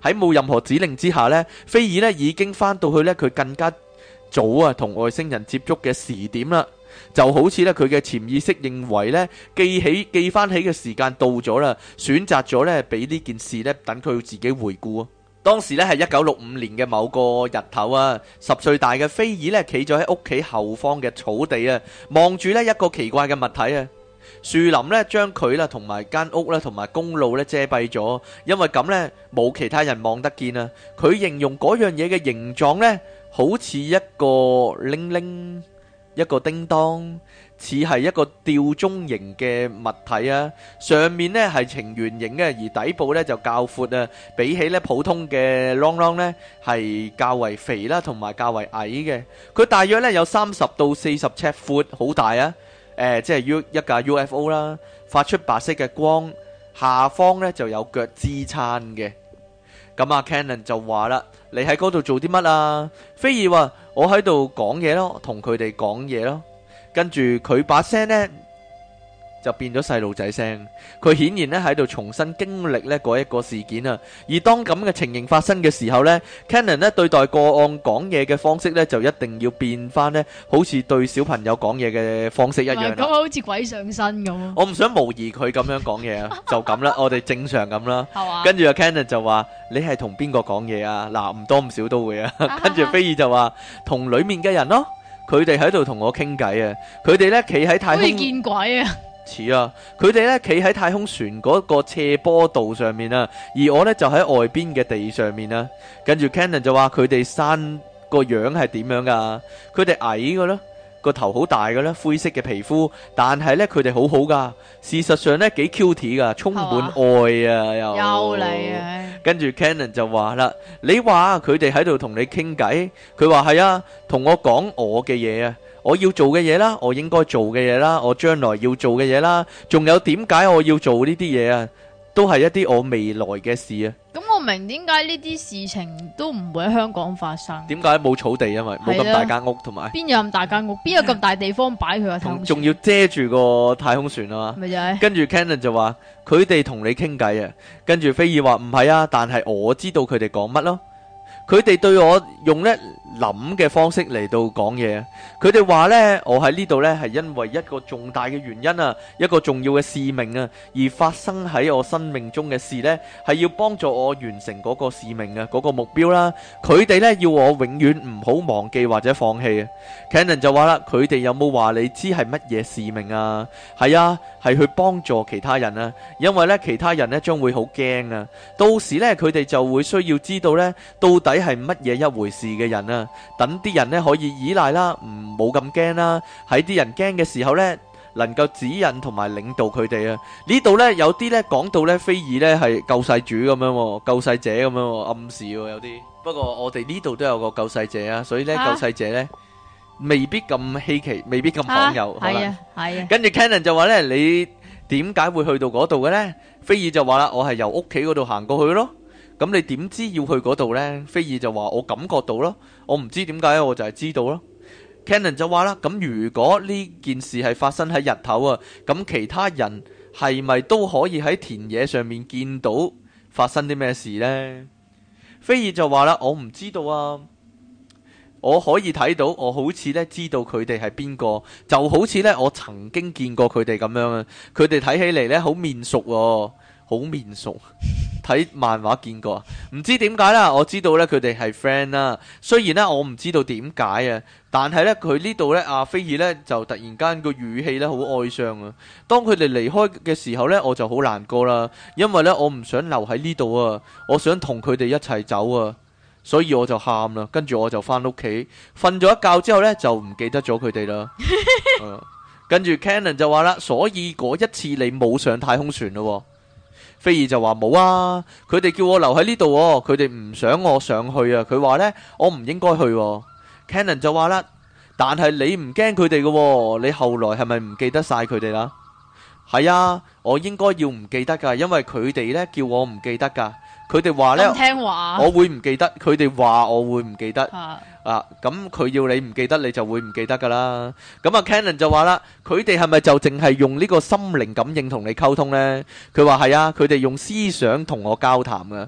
喺冇任何指令之下呢，菲爾呢已經翻到去呢佢更加早啊同外星人接觸嘅時點啦。就好似咧佢嘅潛意識認為咧記翻起嘅時間到咗啦，選擇咗咧俾呢件事咧等佢自己回顧啊。當時咧係1965年嘅某個日頭啊，10歲大嘅菲爾咧企咗喺屋企後方嘅草地啊，望住咧一個奇怪嘅物體啊。樹林咧將佢啦同埋間屋啦同埋公路咧遮蔽咗，因為咁咧冇其他人望得見啊。佢形容嗰樣嘢嘅形狀咧好似一個鈴鈴。一個叮當，似係一個吊鐘形嘅物體啊，上面呢係呈圓形嘅，而底部呢就較闊啊，比起呢普通嘅啷啷呢係較為肥啦，同埋較為矮嘅。佢大約呢有30到40尺闊，好大啊！即係一架 UFO 啦，發出白色嘅光，下方呢就有腳支撐嘅。咁阿 Cannon 就話啦：你喺嗰度做啲乜啊？菲爾話：我喺度講嘢咯，同佢哋講嘢咯。跟住佢把聲呢就變咗細路仔聲。佢顯然呢喺度重新經歷呢嗰一個事件啊。而當咁嘅情形發生嘅時候呢， Cannon 呢對待個案講嘢嘅方式呢就一定要變翻呢，好似對小朋友講嘢嘅方式一樣啦。 咁好似鬼上身咁。 我唔想模擬佢咁樣講嘢啊，就咁啦，我哋正常咁啦。 係嘛？ 跟住阿 Cannon 就話：你係同邊個講嘢啊？嗱，唔多唔少都會啊。跟住菲爾就話：同裡面嘅人咯，佢哋喺度同我傾偈啊。佢哋呢企喺太空， 好似見鬼啊！ 似啊！佢哋呢企喺太空船嗰個斜坡道上面啊，而我呢就喺外邊嘅地上面啊。跟住 Cannon 就話：佢哋生個樣係點樣噶？佢哋矮嘅咯。個頭好大嘅咧，灰色嘅皮膚，但係咧佢哋好好噶，事實上咧幾 cute 噶，充滿愛啊，又嚟啊！ 跟住 Cannon 就話啦：你話佢哋喺度同你傾偈，佢話係啊，同我講我嘅嘢啊，我要做嘅嘢啦，我應該做嘅嘢啦，我將來要做嘅嘢啦，仲有點解我要做呢啲嘢啊？都係一啲我未來嘅事啊！ 咁我明點解呢啲事情都唔會喺香港發生？ 點解冇草地？因為冇咁大間屋，同埋邊有咁大間屋？邊有咁大地方擺佢個太空船？ 仲要遮住個太空船啊嘛！ 咪就係。跟住 Cannon 就話：佢哋同你傾偈啊！跟住菲爾話：唔係啊，但係我知道佢哋講乜咯。佢哋對我用呢諗嘅方式嚟到講嘢。佢哋話呢，我喺呢度呢係因為一個重大嘅原因啊，一個重要嘅使命啊，而發生喺我生命中嘅事呢，係要幫助我完成嗰個使命啊，嗰個目標啦。佢哋呢要我永遠唔好忘記或者放棄啊。Cannon 就話啦：佢哋有冇話你知係乜嘢使命啊？係啊，係去幫助其他人啊，因為呢其他人呢將會好驚啊。到時呢佢哋就會需要知道呢到底係乜嘢一回事嘅人啊，等啲人呢可以依賴啦，唔冇咁驚啦。喺啲人驚嘅時候呢，能夠指引同埋領導佢哋啊。呢度呢有啲呢講到呢菲爾呢係救世主咁樣，救世者咁樣暗示有啲。不過我哋呢度都有個救世者啊，所以呢救世者呢未必咁稀奇，未必咁罕有。係啊，係啊。跟住 Cannon 就話呢：你點解會去到嗰度嘅呢？菲爾就話啦：我係由屋企嗰度行過去咯。咁你點知要去嗰度呢？菲爾就話：我感覺到咯，我唔知點解，我就係知道咯。Cannon 就話啦：咁如果呢件事係發生喺日頭啊，咁其他人係咪都可以喺田野上面見到發生啲咩事呢？菲爾就話啦：我唔知道啊，我可以睇到，我好似呢知道佢哋係邊個，就好似呢我曾經見過佢哋咁樣啊。佢哋睇起嚟呢好面熟喎。好面熟，睇漫畫見過啊，唔知點解啦。我知道呢，佢哋係 friend 啦。雖然呢，我唔知道點解啊，但係呢，佢呢度呢，阿菲爾呢，就突然間個語氣呢好哀傷啊。當佢哋離開嘅時候呢，我就好難過啦，因為呢，我唔想留喺呢度啊，我想同佢哋一齊走啊，所以我就喊啦。跟住我就翻屋企瞓咗一覺之後呢，就唔記得咗佢哋啦。跟住 Cannon 就話啦，所以嗰一次你冇上太空船咯。菲爾就話冇啊，佢哋叫我留喺呢度，佢哋唔想我上去啊。佢話呢，我唔應該去。Cannon 就話啦，但係你唔驚佢哋嘅，你後來係咪唔記得晒佢哋啦？係啊，我應該要唔記得噶，因為佢哋呢叫我唔記得噶。佢哋話呢， 聽話我會唔記得，佢哋話我會唔記得。咁佢要你唔記得，你就會唔記得噶啦。咁啊 Cannon 就話啦，佢哋係咪就淨係用呢個心靈感應同你溝通呢？佢話係啊，佢哋用思想同我交談噶。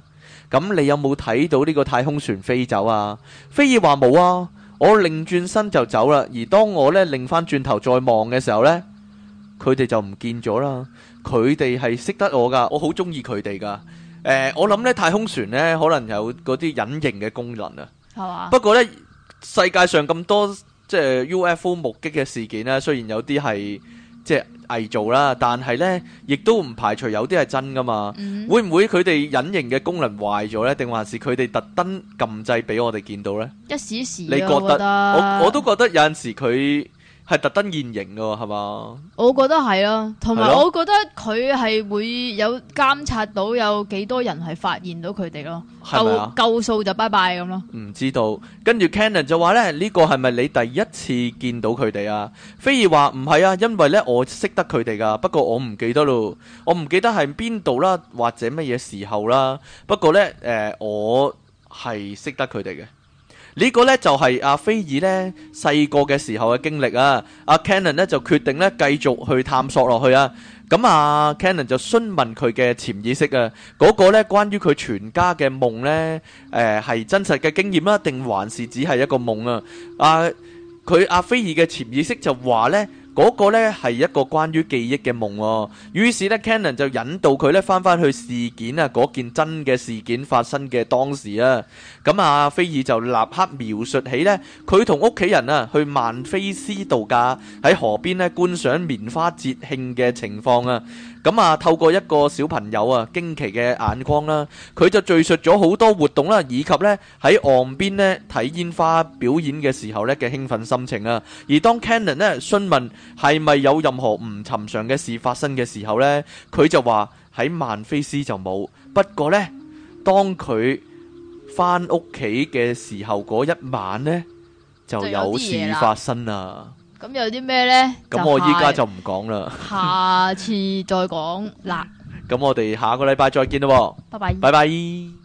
咁你有冇睇到呢個太空船飛走啊？菲爾話冇啊，我擰轉身就走啦。而當我呢擰翻轉頭再望嘅時候呢，佢哋就唔見咗啦。佢哋係識得我噶，我好中意佢哋噶。我諗呢太空船呢可能有嗰啲隱形嘅功能啊。 係嘛？ 不過呢，世界上咁多即係 UFO 目擊嘅事件呢，雖然有啲係即係偽造啦，但係呢亦都唔排除有啲係真噶嘛。會唔會佢哋隱形嘅功能壞咗呢？定還是佢哋特登撳掣俾我哋見到呢？ 一時一時啊， 你覺我覺得？我都覺得有陣時佢係特登現形噶，係嘛？ 我覺得係咯，同埋係咯我覺得佢係會有監察到有幾多人係發現到佢哋咯， 係咪啊夠數就拜拜咁咯。 唔知道。跟住 Cannon 就話呢，呢個係咪你第一次見到佢哋啊？菲爾話唔係啊，因為呢我識得佢哋噶，不過我唔記得咯，我唔記得係邊度啦，或者乜嘢時候啦。不過呢，我係識得佢哋嘅。呢個呢，就係阿菲爾呢細個嘅時候嘅經歷啊。阿 Cannon 呢就決定呢繼續去探索落去啊。咁啊 Cannon 就詢問佢嘅潛意識啊，嗰個呢關於佢全家嘅夢呢，係真實嘅經驗啦，定還是只係一個夢啊？阿菲爾嘅潛意識就話呢，嗰個呢係一個關於記憶嘅夢喎。於是呢 Cannon 就引導佢呢翻返去事件啊，嗰件真嘅事件發生嘅當時啊。咁啊，菲爾就立刻描述起呢，佢同屋企人啊去曼菲斯度假，喺河邊呢觀賞棉花節慶嘅情況啊。咁啊，透過一個小朋友啊驚奇嘅眼光啦，佢就敘述咗好多活動啦，以及呢喺岸邊呢睇煙花表演嘅時候呢嘅興奮心情啊。而當 Cannon 呢詢問係咪有任何唔尋常嘅事發生嘅時候呢，佢就話喺曼菲斯就冇，不過呢，當佢翻屋企嘅時候嗰一晚呢，就有事發生啦。 咁有啲咩呢？ 咁我依家就唔講啦， 下次再講啦。 咁我哋下個禮拜再見咯， 拜拜。 拜拜。